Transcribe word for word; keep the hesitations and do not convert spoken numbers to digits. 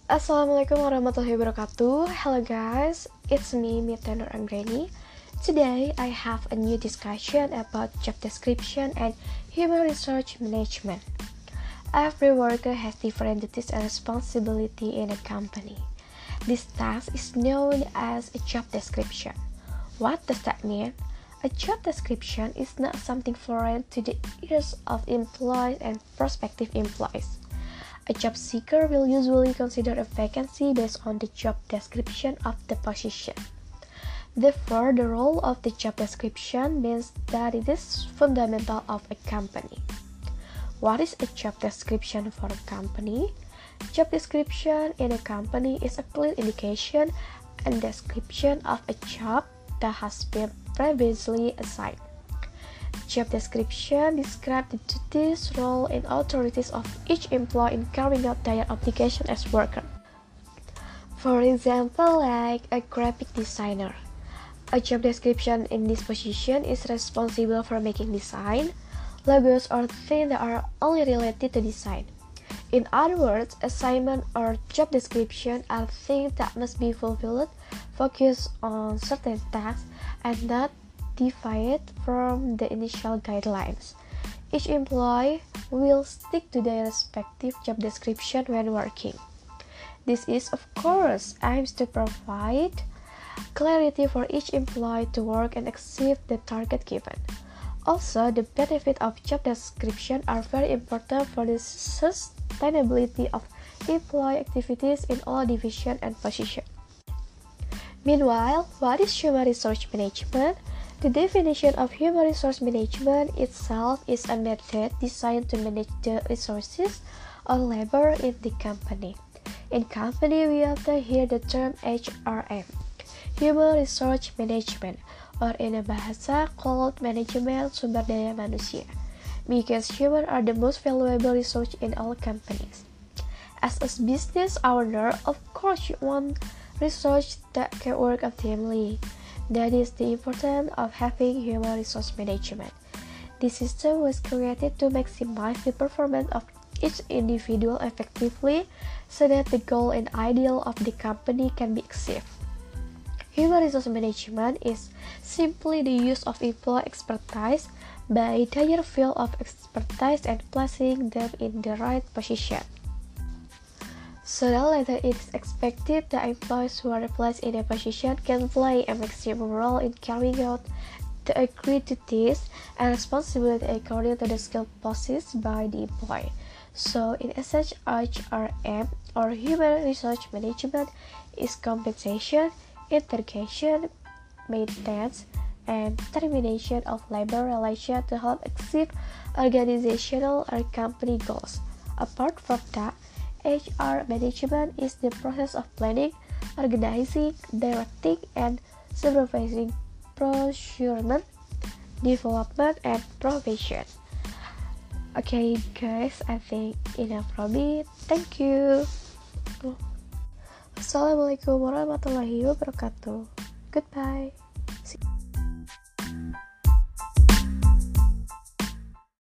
Assalamualaikum warahmatullahi wabarakatuh. Hello guys, it's me Mita Nur Anggreni. Today I have a new discussion about job description and human resource management. Every worker has different duties and responsibility in a company. This task is known as a job description. What does that mean? A job description is not something foreign to the ears of employees and prospective employees. A job seeker will usually consider a vacancy based on the job description of the position. Therefore, the role of the job description means that it is fundamental of a company. What is a job description for a company? Job description in a company is a clear indication and description of a job that has been previously assigned. Job description describes the duties, role, and authorities of each employee in carrying out their obligation as worker. For example, like a graphic designer. A job description in this position is responsible for making design, logos, or things that are only related to design. In other words, assignment or job description are things that must be fulfilled, focus on certain tasks, and not deviate from the initial guidelines. Each employee will stick to their respective job description when working. This is, of course, aims to provide clarity for each employee to work and achieve the target given. Also, the benefits of job description are very important for the sustainability of employee activities in all divisions and positions. Meanwhile, what is human resource management? The definition of human resource management itself is a method designed to manage the resources or labor in the company. In company, we often hear the term H R M, Human Resource Management, or in a bahasa called Manajemen Sumber Daya Manusia, because humans are the most valuable resource in all companies. As a business owner, of course you want resource that can work optimally. That is the importance of having human resource management. This system was created to maximize the performance of each individual effectively so that the goal and ideal of the company can be achieved. Human resource management is simply the use of employee expertise by their field of expertise and placing them in the right position. So that later it is expected that employees who are placed in a position can play a maximum role in carrying out the agreed duties and responsibility according to the skill possessed by the employee. So in essence, H R M or Human Resource Management is compensation, integration, maintenance, and termination of labor relations to help achieve organizational or company goals. Apart from that, H R management is the process of planning, organizing, directing, and supervising procurement, development, and provision. Okay guys, I think enough from me. Thank you. Assalamualaikum warahmatullahi wabarakatuh. Goodbye.